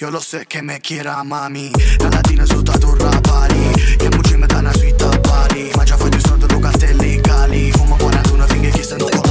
Io lo so che me chiera mami. La latina sotto a turra pari. Che mucci me dana sui tappari. Ma già fai di sordo con cartelli legali. Fumo 41 finché chi stanno